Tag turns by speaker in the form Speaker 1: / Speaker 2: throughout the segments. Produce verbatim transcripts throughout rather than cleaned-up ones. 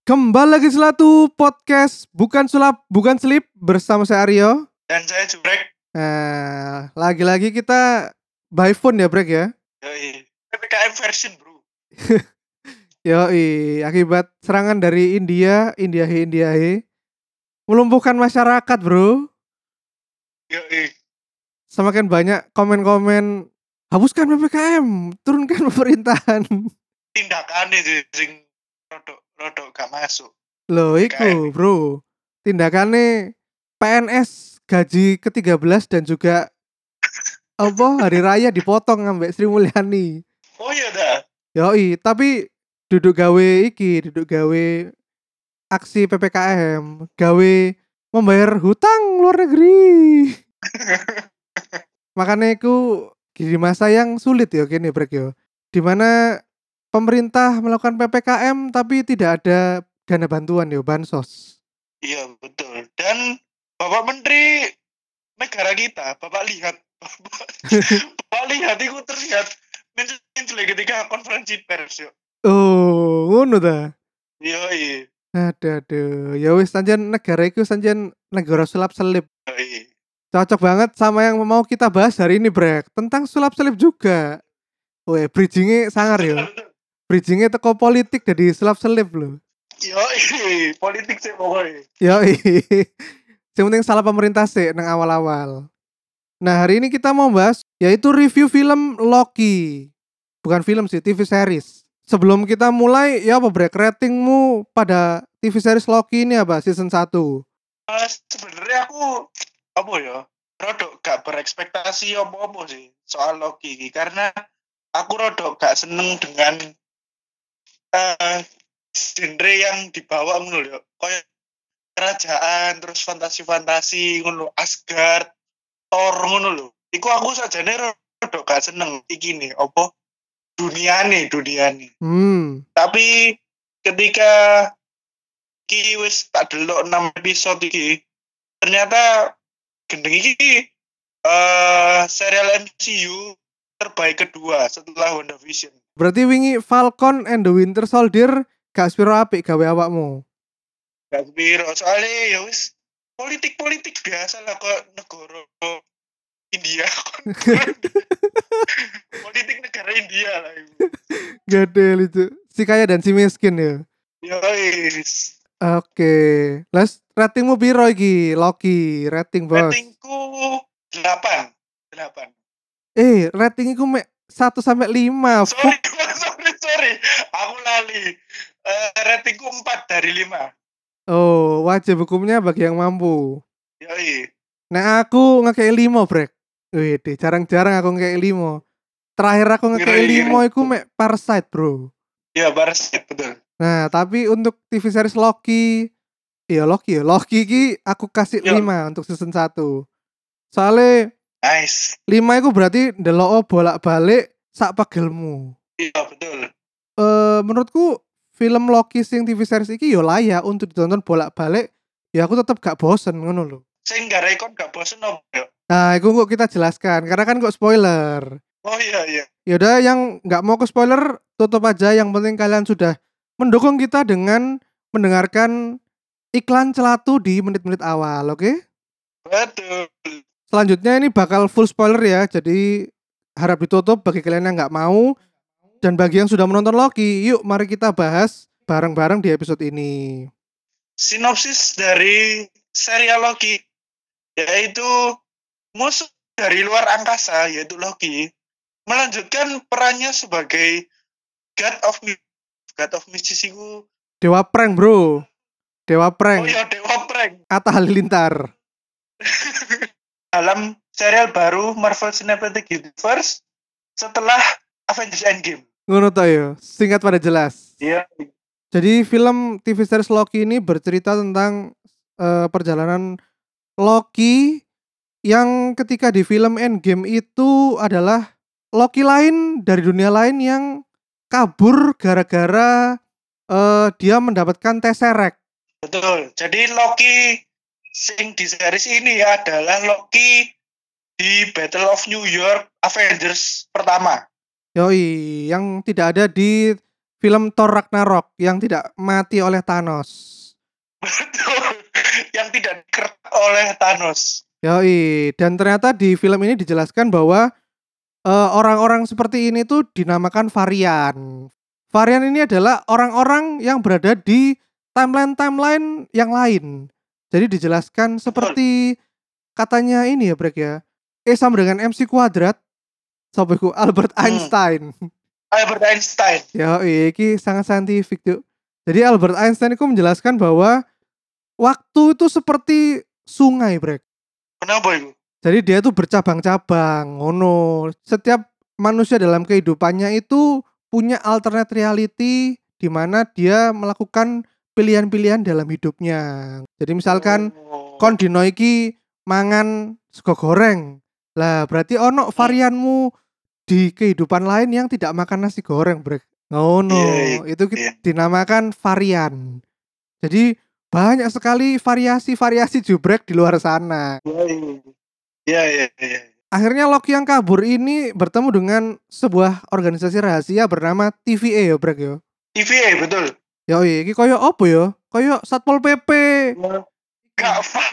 Speaker 1: Kembali lagi Selatu Podcast Bukan Sulap Bukan Selip bersama saya Aryo.
Speaker 2: Dan saya Jubrek.
Speaker 1: Nah, lagi-lagi kita by phone ya Brek ya.
Speaker 2: Yoi. P P K M version bro.
Speaker 1: Yoi, akibat serangan dari India, India he, India he, melumpuhkan masyarakat bro.
Speaker 2: Yoi.
Speaker 1: Semakin banyak komen-komen hapuskan P P K M, turunkan pemerintahan.
Speaker 2: Tindakannya sih sing rodok rodok gak masuk.
Speaker 1: Loh
Speaker 2: P P K M.
Speaker 1: iku bro, tindakannya P N S gaji ke tiga belas dan juga apa hari raya dipotong ambek Sri Mulyani.
Speaker 2: Oh iya dah.
Speaker 1: Yoi, tapi duduk gawe iki, duduk gawe aksi P P K M, gawe membayar hutang luar negeri. Makanya itu di masa yang sulit ya gini Brek yo. Dimana pemerintah melakukan P P K M tapi tidak ada dana bantuan yo, bansos.
Speaker 2: Iya betul. Dan Bapak Menteri negara kita, Bapak lihat, Bapak, Bapak lihat itu terlihat muncul ketika konferensi pers yuk.
Speaker 1: Oh, ngono ta.
Speaker 2: Yoi.
Speaker 1: Aduh, aduh. Ya wis sanjen negara iku sanjen negara sulap-selip.
Speaker 2: Yoi.
Speaker 1: Cocok banget sama yang mau kita bahas hari ini, Brek. Tentang sulap-selip juga. Weh, bridgingnya sangar ya. Bridgingnya teko politik jadi sulap-selip loh.
Speaker 2: Yoi. Politik sih pokoknya.
Speaker 1: Yoi. Yang penting salah pemerintah sih nang awal-awal. Nah, hari ini kita mau bahas yaitu review film Loki. Bukan film sih, T V series. Sebelum kita mulai, ya apa Brek, ratingmu pada T V series Loki ini apa season satu?
Speaker 2: Uh, sebenarnya aku apa ya rodok gak berekspektasi apa-apa sih soal Loki ini karena aku rodok gak seneng dengan uh, genre yang dibawa ngono lho kayak kerajaan terus fantasi-fantasi ngono Asgard Thor ngono lho iku aku sajane rodok gak seneng iki nih apa duniane duniane
Speaker 1: Hmm.
Speaker 2: tapi ketika ki wis tak delok enam episode iki ternyata gendeng iki uh, serial M C U terbaik kedua setelah WandaVision.
Speaker 1: Berarti wingi Falcon and the Winter Soldier gak spiro apik gawe awakmu.
Speaker 2: Gak sepiro soalnya ya wis politik-politik biasa lah kok negara India. Politik negara India lah itu.
Speaker 1: Gadel itu. Si kaya dan si miskin ya.
Speaker 2: Yois.
Speaker 1: Oke. Las ratingmu piro iki? Loki, rating bos.
Speaker 2: Ratingku delapan. delapan.
Speaker 1: Eh, ratingku mek satu sampai lima.
Speaker 2: Sorry, sorry, sorry. Aku lali. Uh, ratingku empat dari lima.
Speaker 1: Oh, wajib hukumnya bagi yang mampu.
Speaker 2: Yoi.
Speaker 1: Nah, aku ngekei lima, Brek. Wih, jarang-jarang aku ngekei lima. Terakhir aku ngekei lima iku mek Parasite, bro.
Speaker 2: Iya, Parasite, betul.
Speaker 1: Nah, tapi untuk T V series Loki, iya Loki ya, Loki ki aku kasih
Speaker 2: Yo.
Speaker 1: lima untuk season satu. Soalnya
Speaker 2: Nice.
Speaker 1: lima itu berarti ndelok bolak-balik sak pagelmu.
Speaker 2: Iya, betul.
Speaker 1: Eh, menurutku film Loki sing T V series iki yo layak untuk ditonton bolak-balik. Ya aku tetap gak bosen ngono lho.
Speaker 2: Sing gak rekon gak bosen apa yo?
Speaker 1: Nah, itu kok kita jelaskan karena kan kok spoiler.
Speaker 2: Oh iya iya.
Speaker 1: Yaudah yang nggak mau ke spoiler tutup aja. Yang penting kalian sudah mendukung kita dengan mendengarkan iklan Celatu di menit-menit awal, oke? Okay?
Speaker 2: Betul.
Speaker 1: Selanjutnya ini bakal full spoiler ya, jadi harap ditutup bagi kalian yang nggak mau. Dan bagi yang sudah menonton Loki, yuk mari kita bahas bareng-bareng di episode ini.
Speaker 2: Sinopsis dari serial Loki yaitu musuh dari luar angkasa yaitu Loki melanjutkan perannya sebagai God of God of Mischief itu
Speaker 1: Dewa prank, bro. Dewa prank.
Speaker 2: Oh iya, Dewa prank.
Speaker 1: Atta Halilintar.
Speaker 2: Dalam serial baru Marvel Cinematic Universe setelah Avengers Endgame.
Speaker 1: Ngono to ya, singkat pada jelas.
Speaker 2: Iya.
Speaker 1: Jadi film T V series Loki ini bercerita tentang uh, perjalanan Loki yang ketika di film Endgame itu adalah Loki lain dari dunia lain yang kabur gara-gara uh, dia mendapatkan Tesseract.
Speaker 2: Betul. Jadi Loki sing di series ini adalah Loki di Battle of New York Avengers pertama.
Speaker 1: Yoi, yang tidak ada di film Thor Ragnarok yang tidak mati oleh Thanos.
Speaker 2: Betul. Yang tidak dikertak oleh Thanos.
Speaker 1: Yoi, dan ternyata di film ini dijelaskan bahwa uh, orang-orang seperti ini tuh dinamakan varian. Varian ini adalah orang-orang yang berada di timeline-timeline yang lain. Jadi dijelaskan
Speaker 2: Betul.
Speaker 1: seperti katanya ini ya Brek ya. E sama dengan M C kuadrat. Sobeku Albert
Speaker 2: Hmm.
Speaker 1: Einstein.
Speaker 2: Albert Einstein.
Speaker 1: Ya, ini sangat saintifik tuh. Jadi Albert Einstein itu menjelaskan bahwa waktu itu seperti sungai, Brek.
Speaker 2: Kenapa itu?
Speaker 1: Jadi dia tuh bercabang-cabang, ngono. Setiap manusia dalam kehidupannya itu punya alternate reality di mana dia melakukan pilihan-pilihan dalam hidupnya. Jadi misalkan
Speaker 2: Oh.
Speaker 1: kon dino iki mangan sego goreng. Lah berarti ono varianmu di kehidupan lain yang tidak makan nasi goreng, Brek. Ngono.
Speaker 2: Iya,
Speaker 1: Itu
Speaker 2: iya.
Speaker 1: dinamakan varian. Jadi banyak sekali variasi-variasi jubrek di luar sana.
Speaker 2: Iya, iya, iya.
Speaker 1: Akhirnya Loki yang kabur ini bertemu dengan sebuah organisasi rahasia bernama T V A ya, Brek ya.
Speaker 2: T V A betul.
Speaker 1: Yo iki koyo opo ya? Koyo Satpol P P.
Speaker 2: Gak fuck.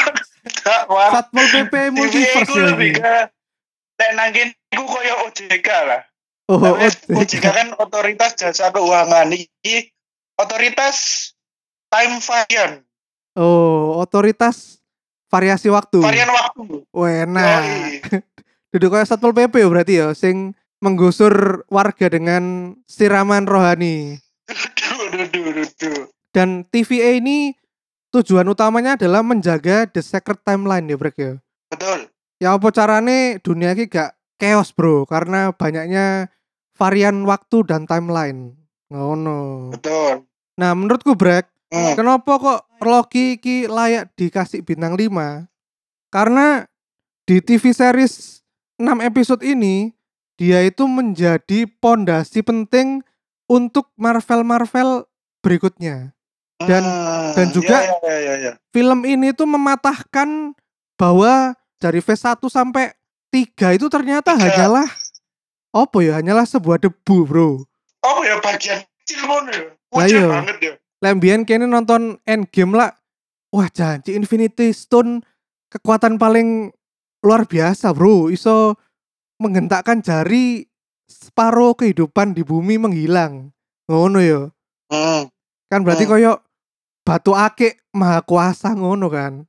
Speaker 2: Gak wah.
Speaker 1: Satpol P P multiverse ya
Speaker 2: lebih
Speaker 1: iki.
Speaker 2: ke nek nangkin iku koyo O J K lah.
Speaker 1: Oh,
Speaker 2: O
Speaker 1: O
Speaker 2: J K kan otoritas jasa keuangan, iki otoritas time varian.
Speaker 1: Oh, otoritas variasi waktu.
Speaker 2: Varian waktu.
Speaker 1: Wena. Duduk kayak Satpol P P ya berarti ya, sing menggusur warga dengan siraman rohani.
Speaker 2: Duh, duh, duh, duh.
Speaker 1: Dan T V A ini tujuan utamanya adalah menjaga the sacred timeline ya, Brek ya.
Speaker 2: Betul.
Speaker 1: Ya apa carane dunia ini gak chaos, Bro, karena banyaknya varian waktu dan timeline. Ngono.
Speaker 2: Betul.
Speaker 1: Nah, menurutku Brek,
Speaker 2: Hmm.
Speaker 1: kenapa kok Loki iki layak dikasih bintang lima? Karena di T V series enam episode ini dia itu menjadi pondasi penting untuk Marvel-Marvel berikutnya. Dan
Speaker 2: hmm.
Speaker 1: dan juga
Speaker 2: ya, ya, ya, ya.
Speaker 1: film ini tuh mematahkan bahwa dari phase satu sampai tiga itu ternyata
Speaker 2: Tiga.
Speaker 1: hanyalah apa ya? Hanyalah sebuah debu, Bro.
Speaker 2: Oh ya bagian kecil ngono ya.
Speaker 1: Lah
Speaker 2: Kecil
Speaker 1: iya.
Speaker 2: banget ya.
Speaker 1: Lembian kene nonton Endgame lah. Wah, janji Infinity Stone kekuatan paling luar biasa, Bro. Iso menghentakkan jari separuh kehidupan di bumi menghilang. Ngono ya.
Speaker 2: Hmm.
Speaker 1: Kan berarti
Speaker 2: Hmm.
Speaker 1: koyo batu akik maha kuasa ngono kan.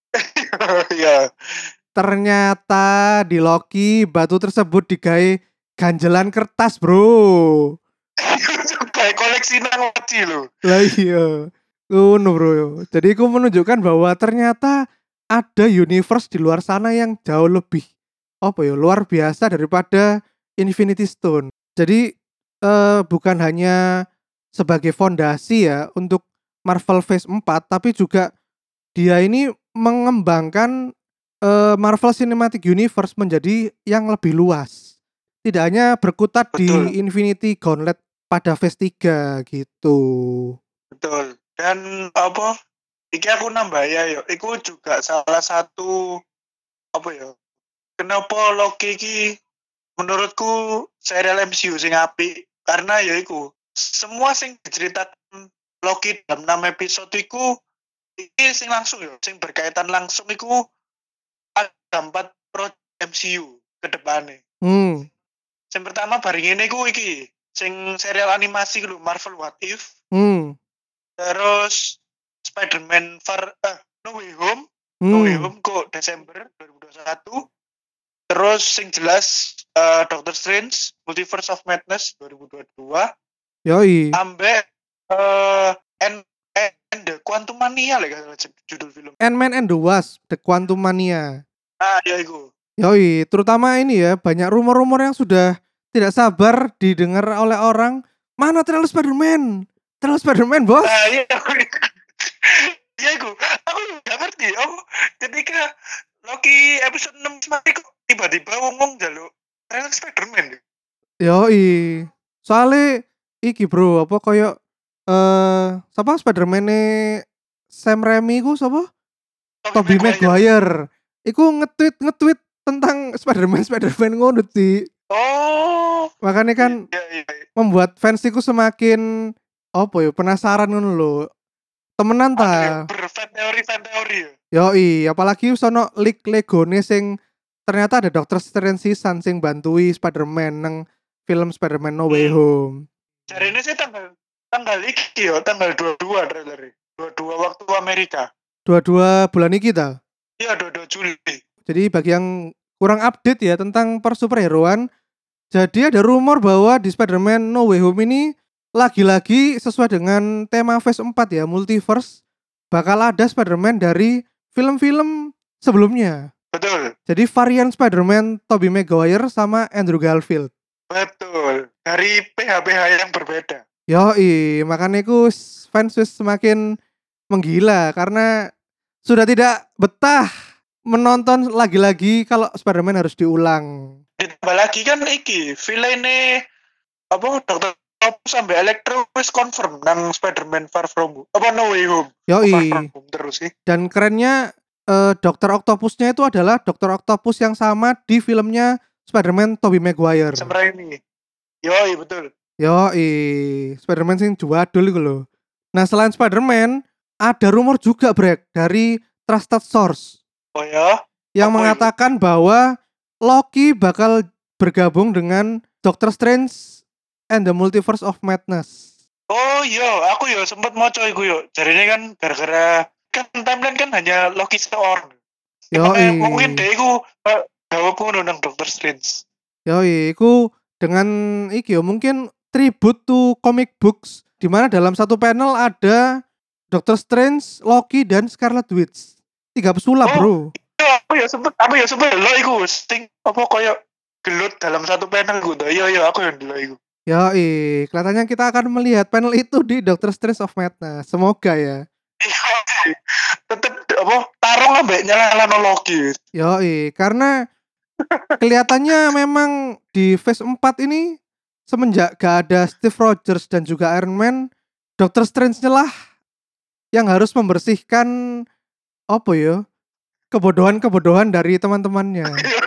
Speaker 2: Iya.
Speaker 1: Ternyata di Loki batu tersebut digawe ganjelan kertas, Bro.
Speaker 2: Kayak koleksi nangoci loh.
Speaker 1: Lah iya. Ngono, Bro. Jadi itu menunjukkan bahwa ternyata ada universe di luar sana yang jauh lebih apa ya, luar biasa daripada Infinity Stone. Jadi eh, bukan hanya sebagai fondasi ya untuk Marvel Phase empat, tapi juga dia ini mengembangkan eh, Marvel Cinematic Universe menjadi yang lebih luas. Tidak hanya berkutat
Speaker 2: Betul.
Speaker 1: di Infinity Gauntlet pada Phase tiga gitu.
Speaker 2: Betul. Dan apa? Iki aku nambah ya, yo. Iku juga salah satu apa ya? Kenapa Loki iki menurutku serial M C U sing apik karena ya iku semua sing diceritakan Loki dalam enam episode iku iki sing langsung ya, sing berkaitan langsung iku ada empat project M C U ke depannya.
Speaker 1: Hmm.
Speaker 2: Yang pertama bareng ini ku iki sing serial animasi lho Marvel What If.
Speaker 1: Hmm.
Speaker 2: Terus Spider-Man Far uh, No Way Home.
Speaker 1: Hmm.
Speaker 2: No Way Home kok Desember dua ribu dua puluh satu. Terus sing jelas uh, Doctor Strange Multiverse of Madness dua ribu dua puluh dua.
Speaker 1: Yoi.
Speaker 2: Ambek uh, and, and the Quantum Mania lah judul film.
Speaker 1: Ant-Man and the Wasp, The Quantum Mania.
Speaker 2: Ah, ya iku.
Speaker 1: Yoi, terutama ini ya, banyak rumor-rumor yang sudah tidak sabar didengar oleh orang. Mana trailer Spider-Man? Trailer Spider-Man, Bos.
Speaker 2: Ah, iya. Iya iku. Aku gak ngerti. Oh, ketika Loki episode enam mati kok tiba-tiba ngomong jaluk trailer Spider-Man.
Speaker 1: Yoi. Soalnya iki, Bro, apa koyo eh siapa Spider-Man-e Sam Raimi ku sapa? Tobey Maguire. Iku nge-tweet nge-tweet tentang Spider-Man Spider-Man ngono sih.
Speaker 2: Oh.
Speaker 1: Makanya kan
Speaker 2: iya, iya.
Speaker 1: membuat fans iku semakin apa ya penasaran ngono lho. Temenan
Speaker 2: Anu ya,
Speaker 1: ta.
Speaker 2: berfan teori fan teori ya.
Speaker 1: Yoi, apalagi sono leak Legone sing ternyata ada Doctor Strange sisan sing bantui Spider-Man nang film Spider-Man No Way
Speaker 2: Hmm.
Speaker 1: Home.
Speaker 2: Hari ini sih tanggal tanggal iki yo, tanggal dua puluh dua trailer. dua puluh dua waktu Amerika.
Speaker 1: dua puluh dua bulan ini kita.
Speaker 2: Iya, dua puluh dua Juli.
Speaker 1: Jadi bagi yang kurang update ya tentang per superheroan, jadi ada rumor bahwa di Spider-Man No Way Home ini lagi-lagi sesuai dengan tema Phase empat ya, Multiverse, bakal ada Spider-Man dari film-film sebelumnya.
Speaker 2: Betul.
Speaker 1: Jadi varian Spider-Man Tobey Maguire sama Andrew Garfield.
Speaker 2: Betul. Dari P H P H yang berbeda.
Speaker 1: Yoi, makanya ku fans wis semakin menggila karena sudah tidak betah menonton lagi-lagi kalau Spider-Man harus diulang.
Speaker 2: Ditambah lagi kan iki, villain-e apa Dokter Octopus sampai Electro wis confirm nang Spider-Man Far From Home. Apa No Way Home. Far
Speaker 1: Yoi.
Speaker 2: From Home terus sih.
Speaker 1: Dan kerennya eh, Dokter Octopusnya itu adalah Dokter Octopus yang sama di filmnya Spider-Man Tobey Maguire.
Speaker 2: Sebenarnya ini. Yoi, betul.
Speaker 1: Yoi, Spider-Man sing jwadul iku lho. Nah, selain Spider-Man, ada rumor juga Brek dari Trusted Source
Speaker 2: Oh ya.
Speaker 1: yang
Speaker 2: Apa
Speaker 1: mengatakan bahwa Loki bakal bergabung dengan Doctor Strange and the Multiverse of Madness.
Speaker 2: Oh iya, aku ya sempat mau coy iku yo. Jarine kan gara-gara kan timeline kan hanya Loki seorang.
Speaker 1: Yoi.
Speaker 2: Mungkin deh iku uh, gawe pun nang Doctor Strange.
Speaker 1: Yoi, iku dengan iki yo mungkin tribute to comic books di mana dalam satu panel ada Doctor Strange, Loki dan Scarlet Witch. Tiga pesulap,
Speaker 2: Oh,
Speaker 1: Bro.
Speaker 2: Iya, aku ya sempet, aku ya sempet lo iku sing apa koyo gelut dalam satu panel gue. Iya iya aku yang dulu iku.
Speaker 1: Yoi, kelihatannya kita akan melihat panel itu di Doctor Strange of Madness. Semoga ya.
Speaker 2: Tetep apa tarung ambek nyala Loki.
Speaker 1: Yoi, karena kelihatannya memang di Phase empat ini semenjak gak ada Steve Rogers dan juga Iron Man, Doctor Strange lah yang harus membersihkan apa ya? Kebodohan-kebodohan dari teman-temannya.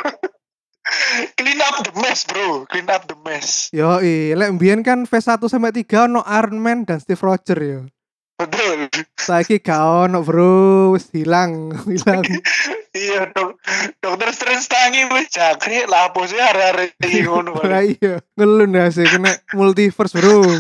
Speaker 2: Clean up the mess, bro. Clean up the mess.
Speaker 1: Yoi, lek mbiyen kan Phase satu sampai tiga ono Iron Man dan Steve Rogers ya.
Speaker 2: Betul.
Speaker 1: Saiki gak ono, Bro. Wis hilang, hilang.
Speaker 2: Iya, dok. Dokter Strange tangi wis jangkrik lah apa sih arek-arek iki ngono.
Speaker 1: Lah iya, ngelun ya sih kena multiverse, Bro.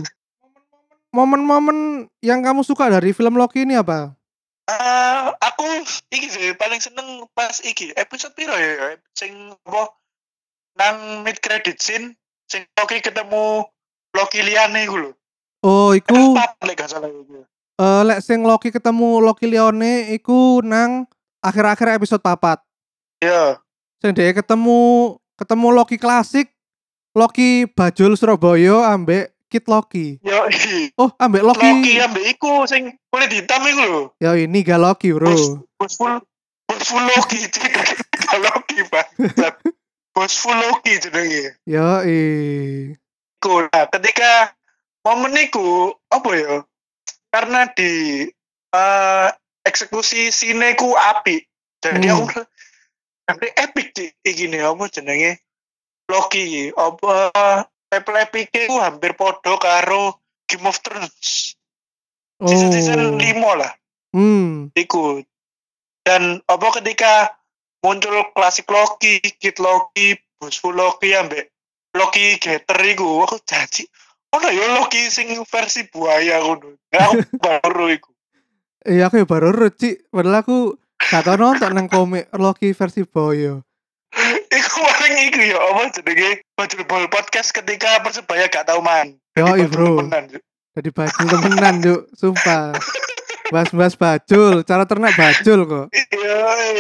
Speaker 1: Momen-momen yang kamu suka dari film Loki ini apa?
Speaker 2: Uh, aku iki sih paling seneng pas iki episode piro ya sing apa nang mid credit scene sing Loki ketemu Loki liyane iku lho.
Speaker 1: Oh, iku
Speaker 2: lek gak salah iku.
Speaker 1: Eh lek sing Loki ketemu Loki Lione iku nang akhir-akhir episode papat.
Speaker 2: Iya.
Speaker 1: Sing dhek ketemu ketemu Loki klasik, Loki Bajul Surabaya ambek Kid Loki.
Speaker 2: Yo.
Speaker 1: Oh, ambek Loki.
Speaker 2: Loki ambek iku sing kulit hitam iku lho.
Speaker 1: Ya ini gak Loki, Bro.
Speaker 2: Bos full bos full Loki gak Loki, Pak. Bos full Loki jenenge.
Speaker 1: Yo
Speaker 2: Iku nah, ketika momen iku apa ya? Karena di uh, eksekusi sineku api. Jadi
Speaker 1: Hmm.
Speaker 2: aku nanti epic sih gini apa jenenge Loki apa level epic ku hampir podo karo Game of Thrones.
Speaker 1: Oh.
Speaker 2: Season lima lah.
Speaker 1: Hmm.
Speaker 2: Iku. Dan apa ketika muncul klasik Loki, Kid Loki, Bosfu Loki ambek Loki Getter iku aku janji ono ya Loki sing versi buaya ngono. Nah, aku baru iku.
Speaker 1: Iya aku ya baru ruci, padahal aku gak tau nonton nang komik Loki versi Boyo.
Speaker 2: Iku paling iku ya apa jenenge Bajul Bol podcast ketika Persebaya gak tau main.
Speaker 1: Yo bro. Jadi bajul temenan yuk, sumpah. Bahas-bahas bajul, cara ternak bajul kok.
Speaker 2: Iya.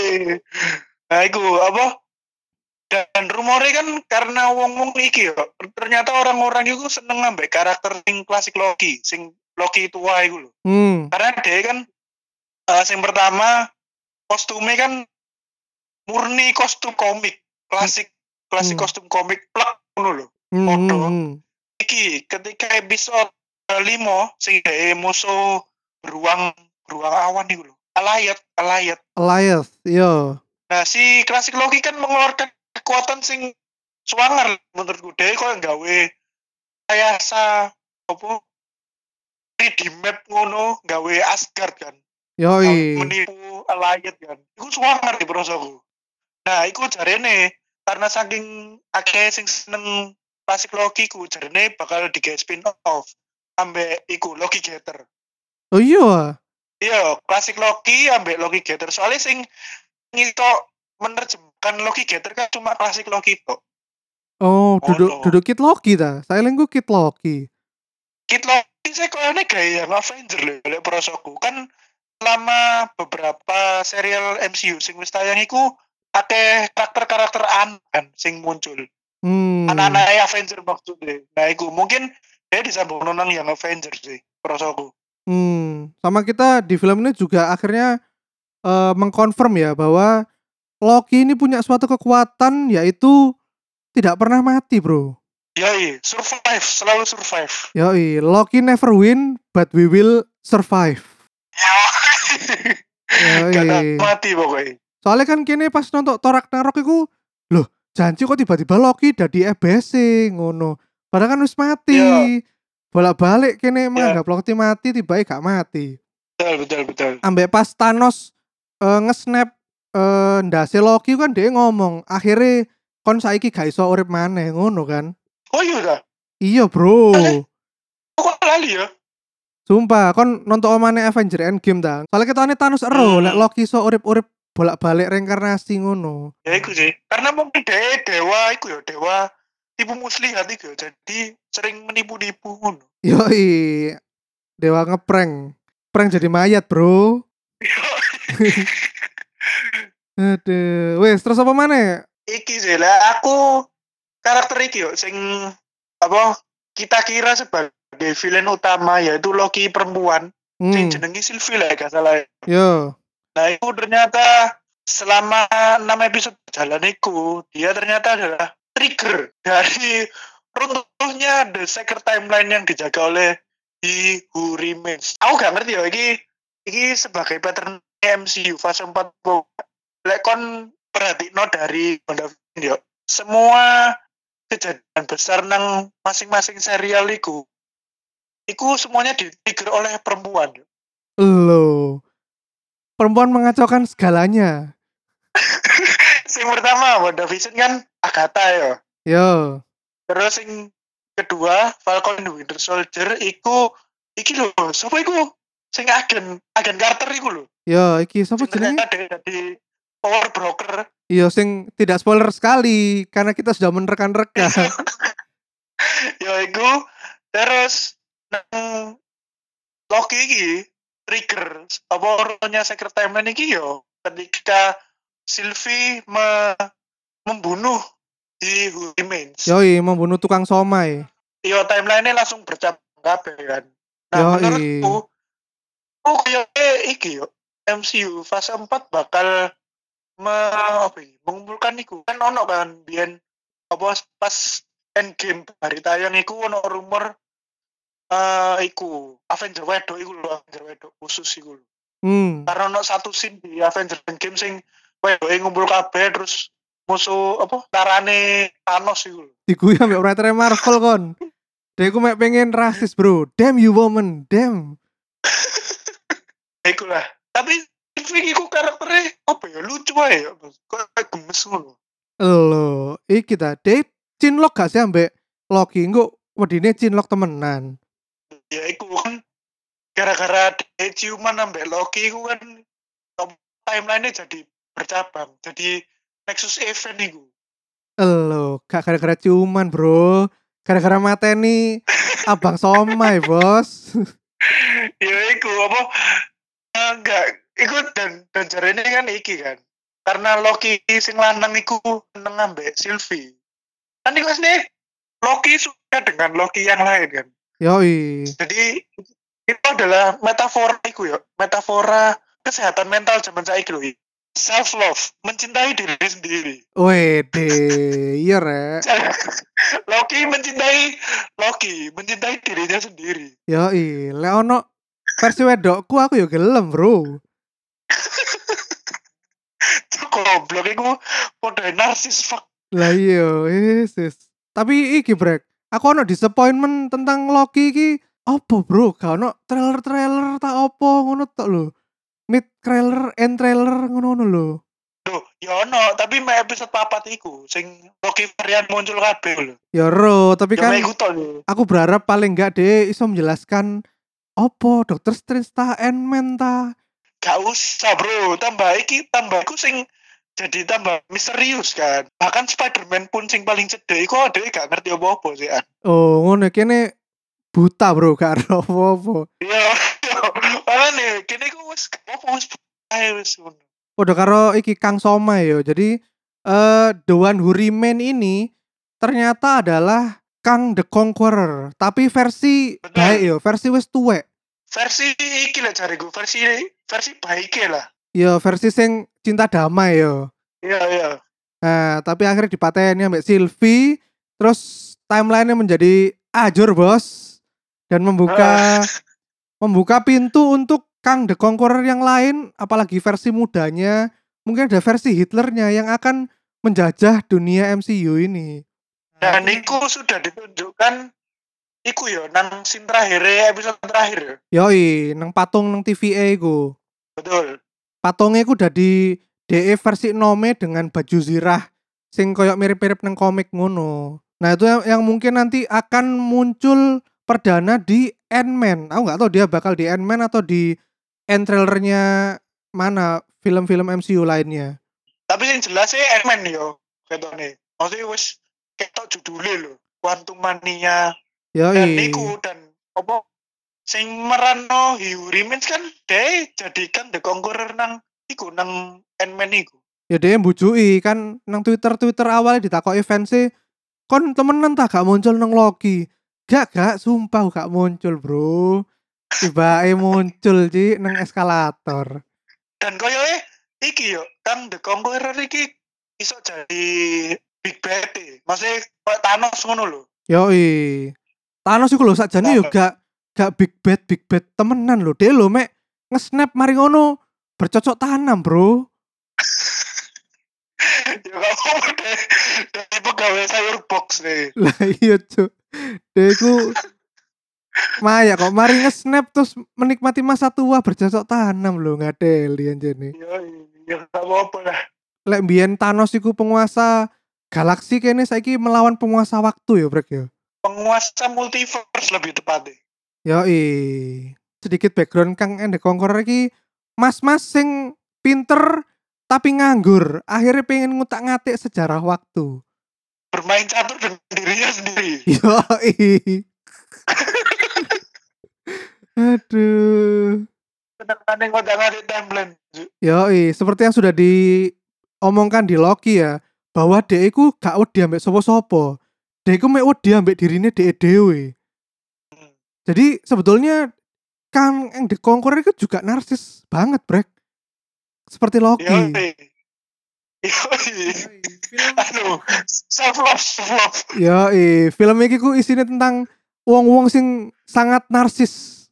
Speaker 2: Nah iku apa? Dan rumornya kan karena wong-wong iki ya, ternyata orang-orang itu seneng ambek karakter sing klasik Loki, sing Loki tua iku lho.
Speaker 1: Hmm.
Speaker 2: Karena dia kan uh, sing pertama kostumnya kan murni kostum komik, klasik klasik
Speaker 1: hmm.
Speaker 2: kostum komik plek ngono lho.
Speaker 1: Hmm.
Speaker 2: Foto.
Speaker 1: Hmm.
Speaker 2: Iki ketika episode lima sing dhek musuh beruang beruang awan iku lho. Alayat, Alayat.
Speaker 1: Alayat, iya.
Speaker 2: Nah, si klasik Loki kan mengeluarkan kekuatan sing swanger menurutku. Dia kok gawe rekayasa apa tiga D map ngono gawe Asgard kan. Gawe
Speaker 1: Yoi.
Speaker 2: menipu Allied kan. Iku suwanger di prosoku. Nah, iku jarene karena saking akeh sing seneng klasik Loki ku jarene bakal digawe spin off ambek iku Loki Getter.
Speaker 1: Oh iya.
Speaker 2: Iya, klasik Loki ambek Loki Getter. Soalnya sing ngito menerjemahkan Loki Getter kan cuma klasik Loki tok.
Speaker 1: Oh,
Speaker 2: Oh
Speaker 1: duduk
Speaker 2: no.
Speaker 1: duduk Kid Loki ta. Saya lengku Kid Loki.
Speaker 2: Kid Loki saya kayaknya gaya Avenger loh, oleh prosoku. Kan selama beberapa serial M C U sing wis tayang iku akeh karakter-karakter aneh kan sing muncul.
Speaker 1: Hmm.
Speaker 2: Anak-anak Avenger maksudnya. Nah, iku mungkin dia disambung nonang yang Avenger sih, prosoku.
Speaker 1: Hmm. Sama kita di film ini juga akhirnya eh, mengkonfirm ya bahwa Loki ini punya suatu kekuatan yaitu tidak pernah mati, bro.
Speaker 2: Yoi, survive, selalu survive.
Speaker 1: Yoi, Loki never win, but we will survive.
Speaker 2: Gak tak
Speaker 1: Yoi.
Speaker 2: mati pokoknya.
Speaker 1: Soalnya kan kini pas nonton Thor Ragnarok iku, loh, janji kok tiba-tiba Loki dadi E B C ngono. Padahal kan wis mati.
Speaker 2: Ya,
Speaker 1: Bolak-balik kini
Speaker 2: ya,
Speaker 1: menganggap Loki mati, tiba gak mati.
Speaker 2: betul, betul, betul.
Speaker 1: Ambek pas Thanos eh, nge-snap eh, ndase Loki kan dia ngomong, akhirnya kon saiki gak iso urip maneh ngono kan.
Speaker 2: Oh iya dah.
Speaker 1: Iya, bro.
Speaker 2: Kok lali ya?
Speaker 1: Sumpah, kon nonton omane Avenger Endgame ta. Soalnya ketone Thanos ero, lek
Speaker 2: Hmm.
Speaker 1: Loki iso urip-urip bolak-balik reinkarnasi ngono.
Speaker 2: Ya iku sih. Karena mungkin dia dewa iku ya, dewa tipu muslihat iku ya. Jadi sering menipu-nipu ngono.
Speaker 1: Yoi, dewa ngeprank. Prank jadi mayat, bro. Aduh, wes terus apa mana?
Speaker 2: Iki sih lah aku karakter iki yo sing apa kita kira sebagai villain utama yaitu Loki perempuan sing
Speaker 1: Hmm,
Speaker 2: jenenge Sylvie lah gak salah.
Speaker 1: yo,
Speaker 2: Nah itu ternyata selama enam episode jalan iku dia ternyata adalah trigger dari runtuhnya The Secret Timeline yang dijaga oleh He Who Remains. Aku gak ngerti ya iki iki sebagai pattern M C U fase empat. Lek kon perhatikno dari WandaVision yo. Semua kejadian besar nang masing-masing serial iku iku semuanya di-trigger oleh perempuan.
Speaker 1: lo. Perempuan mengacaukan segalanya.
Speaker 2: Sing pertama WandaVision kan Agatha ya.
Speaker 1: Yo,
Speaker 2: Terus sing kedua Falcon and Winter Soldier iku iki lho, sapa iku? Sing agen agen Carter iku lho.
Speaker 1: yo, iki sapa
Speaker 2: Sing ternyata
Speaker 1: jenenge?
Speaker 2: dia jadi power broker.
Speaker 1: Yo, sing tidak spoiler sekali karena kita sudah menerkan-rekan.
Speaker 2: Ya iku terus nang Loki iki trigger apa rohnya Secret Timeline iki yo ketika Sylvie me membunuh di Who Remains.
Speaker 1: Yoi, membunuh tukang somai.
Speaker 2: Yo timeline-nya langsung bercabang kabeh kan. Nah,
Speaker 1: Yoi.
Speaker 2: menurutku oh kayaknya iki yo M C U fase empat bakal me, apa ini, mengumpulkan iku. Kan ono kan biyen apa pas Endgame hari tayang iku ono rumor eh iku Avenger wedok iku lho, Avenger wedok khusus iku lho.
Speaker 1: Hmm.
Speaker 2: Karena ono satu scene di Avenger Endgame sing wedoke ngumpul kabeh terus musuh apa tarane Thanos iku lho.
Speaker 1: Dikuyi ambek writer Marvel kon. Dia aku mek pengen rasis, bro. Damn you woman, damn.
Speaker 2: Iku lah. Tapi Sylvie iku karakternya apa ya lucu aja ya. Kok gemes ngono.
Speaker 1: Lo, iki ta, dia cinlok gak sih ambek Loki? Engko wedine cinlok temenan.
Speaker 2: Ya iku kan gara-gara dia ciuman ambek Loki iku kan timeline-nya jadi bercabang. Jadi Nexus Event iku.
Speaker 1: Lo, gak gara-gara ciuman, bro. Gara-gara mateni abang somai, bos.
Speaker 2: Ya iku apa enggak iku dan dan jarene kan iki kan. Karena Loki sing lanang iku seneng ambek Sylvie. Kan iku asli Loki suka dengan Loki yang lain kan.
Speaker 1: Yoi.
Speaker 2: Jadi itu adalah metafora iku ya, metafora kesehatan mental zaman saiki lho. Self love, mencintai diri sendiri.
Speaker 1: Wede, iya rek.
Speaker 2: Loki mencintai Loki, mencintai dirinya sendiri.
Speaker 1: Yoi, lek ono versi wedokku aku yo gelem, bro.
Speaker 2: Goblok iku padha narsis fuck.
Speaker 1: Lah iya, yes, yes. Tapi iki brek, aku ono disappointment tentang Loki iki opo bro, gak ono trailer-trailer tak opo ngono tok lho. Mid trailer, end trailer ngono lho.
Speaker 2: Loh, ya ono, tapi me episode papat iku sing Loki varian muncul kabeh lho.
Speaker 1: Ya ro, tapi
Speaker 2: Ya
Speaker 1: kan
Speaker 2: me iku tok lho.
Speaker 1: aku berharap paling enggak deh iso menjelaskan opo Doctor Strange ta Ant-Man ta.
Speaker 2: Gak usah bro, tambah iki tambah iku sing jadi tambah misterius kan. Bahkan Spider-Man pun sing paling cedek iku dhewe gak ngerti apa-apa sih an.
Speaker 1: Oh ngono kene buta bro gak ero apa-apa.
Speaker 2: Iya. Makane kene iku wis apa wis ae wis ngono.
Speaker 1: Padha karo iki Kang Soma ya. Jadi eh The One Who Remain ini ternyata adalah Kang the Conqueror, tapi versi
Speaker 2: Bener.
Speaker 1: baik yo, versi wis tuwek.
Speaker 2: Versi iki lah jariku, versi versi baike lah.
Speaker 1: Yo versi sing cinta damai yo.
Speaker 2: Iya iya.
Speaker 1: Nah, tapi akhirnya dipateni ambek Sylvie, terus timeline-nya menjadi ajur, Bos. Dan membuka membuka pintu untuk Kang the Conqueror yang lain, apalagi versi mudanya, mungkin ada versi Hitlernya yang akan menjajah dunia M C U ini.
Speaker 2: Dan iku sudah ditunjukkan iku yo nang scene terakhir episode terakhir.
Speaker 1: Yoi, nang patung nang T V A iku.
Speaker 2: Betul.
Speaker 1: Patungnya iku udah di D E versi Nome dengan baju zirah sing koyok mirip-mirip nang komik ngono. Nah, itu yang, yang mungkin nanti akan muncul perdana di Ant-Man. Aku nggak tahu dia bakal di Ant-Man atau di end trailernya mana film-film M C U lainnya.
Speaker 2: Tapi yang jelas sih Ant-Man yo ketone. Maksudnya wis ketok judulnya lho, Quantum Mania. Dan
Speaker 1: Yoi.
Speaker 2: iku dan apa sing merano Hugh Remains kan deh jadikan The Conqueror nang iku nang Ant-Man iku.
Speaker 1: Ya dia mbujui kan nang Twitter-Twitter awalnya ditakoki fansnya kon temenan tak gak muncul nang Loki. Gak gak sumpah gak muncul, Bro. Tiba-tiba muncul Ci nang eskalator.
Speaker 2: Dan koyoke iki yo kan The Conqueror iki iso jadi big bad e. Maksudnya kayak Thanos ngono lho.
Speaker 1: Yoi. Thanos iku lho sakjane yo gak gak big bad big bad temenan lho. Dia lho mek nge-snap mari ngono bercocok tanam, Bro.
Speaker 2: Ya gak apa-apa deh. Dari pegawai sayur box nih.
Speaker 1: Lah iya, Cuk. Dia iku Maya kok mari nge-snap terus menikmati masa tua bercocok tanam lho, ngadeli anjene.
Speaker 2: Ya ya gak apa-apa lah.
Speaker 1: Lek mbiyen Thanos iku penguasa galaksi kene saiki melawan penguasa waktu ya, Brek ya.
Speaker 2: Penguasa multiverse lebih tepatnya.
Speaker 1: Yoi. Sedikit background Kang and the Conqueror iki mas-mas sing pinter tapi nganggur, akhirnya pengen ngutak-ngatik sejarah waktu.
Speaker 2: Bermain catur dengan dirinya sendiri.
Speaker 1: Yoi. Aduh.
Speaker 2: Kadang-kadang ngotak-ngatik timeline.
Speaker 1: Yoi, seperti yang sudah diomongkan di Loki ya, bahwa dhek iku gak wedi ambek sapa-sapa. Dhek iku mek wedi ambek dirine dhek dhewe. Jadi sebetulnya Kang yang the Conqueror itu juga narsis banget, Brek. Seperti Loki.
Speaker 2: Yoi. Yoi. Aduh, self love, self love.
Speaker 1: Yoi, film iki ku isinya tentang wong-wong sing sangat narsis.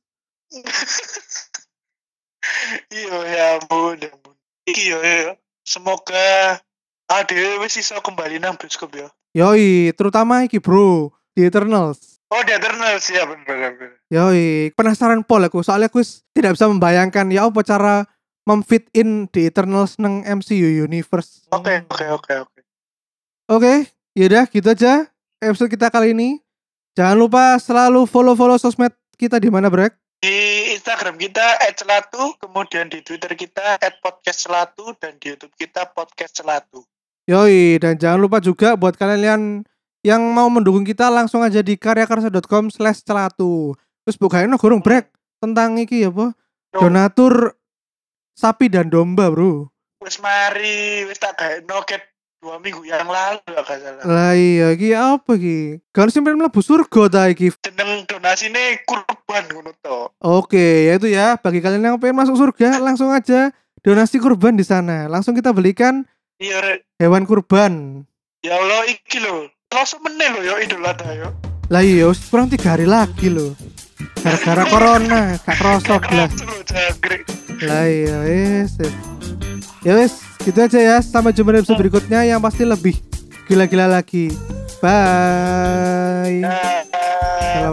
Speaker 2: Iya ya ampun, ya ampun. Iki yo ya. Semoga ade wis iso kembali nang bioskop ya.
Speaker 1: Yoi, terutama iki bro, The Eternals.
Speaker 2: Oh, The Eternals ya bener-bener.
Speaker 1: Yoi, penasaran pol aku, soalnya aku tidak bisa membayangkan ya apa cara memfit in The Eternals nang M C U universe.
Speaker 2: Oke, oke, oke, oke.
Speaker 1: Oke, yaudah gitu aja episode kita kali ini. Jangan lupa selalu follow-follow sosmed kita di mana, Brek?
Speaker 2: Di Instagram kita et celatu, kemudian di Twitter kita et podcast celatu, dan di YouTube kita podcast celatu.
Speaker 1: Yoi, dan jangan lupa juga buat kalian yang mau mendukung kita langsung aja di karyakarsa dot com slash celatu. Terus bukain gurung Brek tentang iki ya, apa? Donatur sapi dan domba, bro.
Speaker 2: Wis mari, wis tak gawe noket dua minggu yang lalu gak salah.
Speaker 1: Lah iya, iki apa iki? Kan sampeyan mlebu surga ta iki.
Speaker 2: Jeneng donasine kurban ngono to.
Speaker 1: Oke, yaitu ya bagi kalian yang pengen masuk surga langsung aja donasi kurban di sana. Langsung kita belikan
Speaker 2: iya, Rek.
Speaker 1: Hewan kurban.
Speaker 2: Ya Allah, iki lho. Langsung meneh lho yo Idul Adha yo.
Speaker 1: Lah iya, kurang tiga hari lagi lho. Gara-gara corona, gak kerosok lah. Lah iya, wes. Ya wes, gitu aja ya. Sampai jumpa di episode berikutnya yang pasti lebih gila-gila lagi. Bye.
Speaker 2: Nah.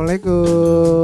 Speaker 1: Assalamualaikum.